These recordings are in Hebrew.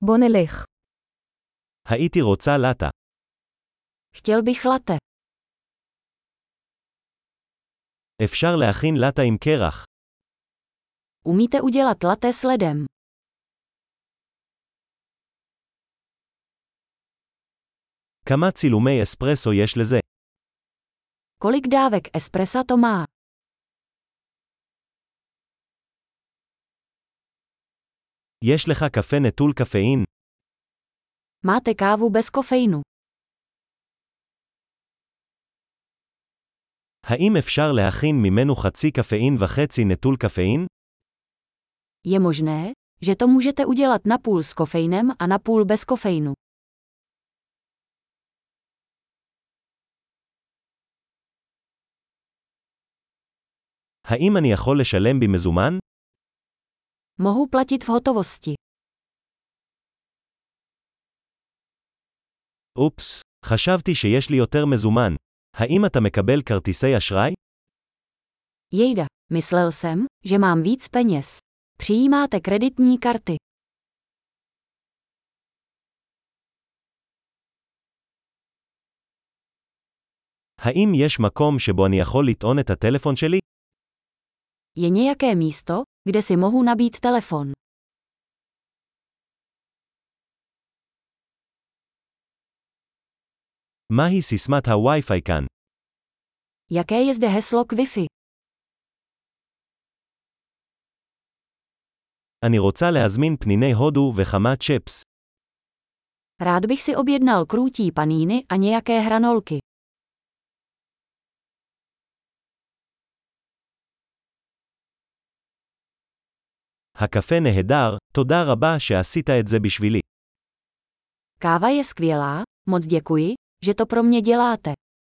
בוא נלך. הייתי רוצה לטה. Chtěl bych latte. אפשר להכין לטה עם קרח. Umíte udělat latte s ledem? כמה צילומי אספרסו יש לזה? Kolik dávek espressa to má? יש לך קפה נטול קפאין? Máte kávu bez kofeinu? האם אפשר להכין ממנו חצי קפאין וחצי נטול קפאין? Je možné, že to můžete udělat napůl s kofeinem a napůl bez kofeinu. האם אני יכול לשלם במזומן? Mohu platit v hotovosti. אופס, חשבתי שיש לי יותר מזומן. האם אתה מקבל כרטיסי אשראי? Jejda, myslel jsem, že mám víc peněz. Přijímáte kreditní karty. האם יש מקום שבו אני יכול לטעון את הטלפון שלי? Je nějaké místo, kde si mohu nabít telefon. מהי סיסמת הווי-פיי כאן? Jaké je zde heslo k Wi-Fi? אני רוצה להזמין פניני הודו וכמה צ'פס. Rád bych si objednal krůtí paníny a nějaké hranolky. הקפה נהדר, תודה רבה שעשית את זה בשבילי. Káva je skvělá, moc děkuji, že to pro mě děláte.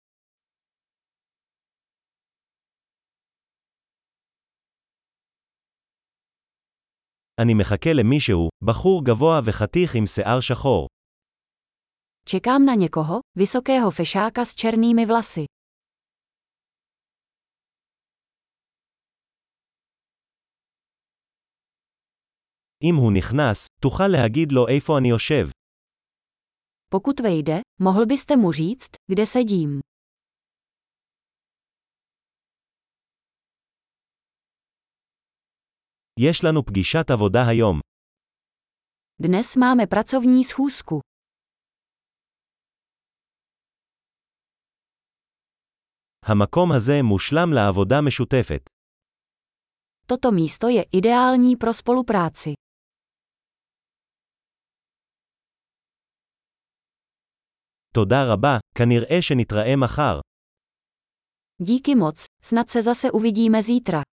אני מחכה למישהו, בחור גבוה וחתיך עם שיער שחור. Čekám na někoho, vysokého fešáka s černými vlasy. אם הוא נכנס, תוכל להגיד לו איפה אני יושב. Pokud vejde, mohl byste mu říct, kde sedím. יש לנו פגישת עבודה היום. Dnes máme pracovní schůzku. המקום הזה מושלם לעבודה משותפת. Toto místo je ideální pro spolupráci. תודה רבה, כנראה שנתראה מחר. Díky moc, snad se zase uvidíme zítra.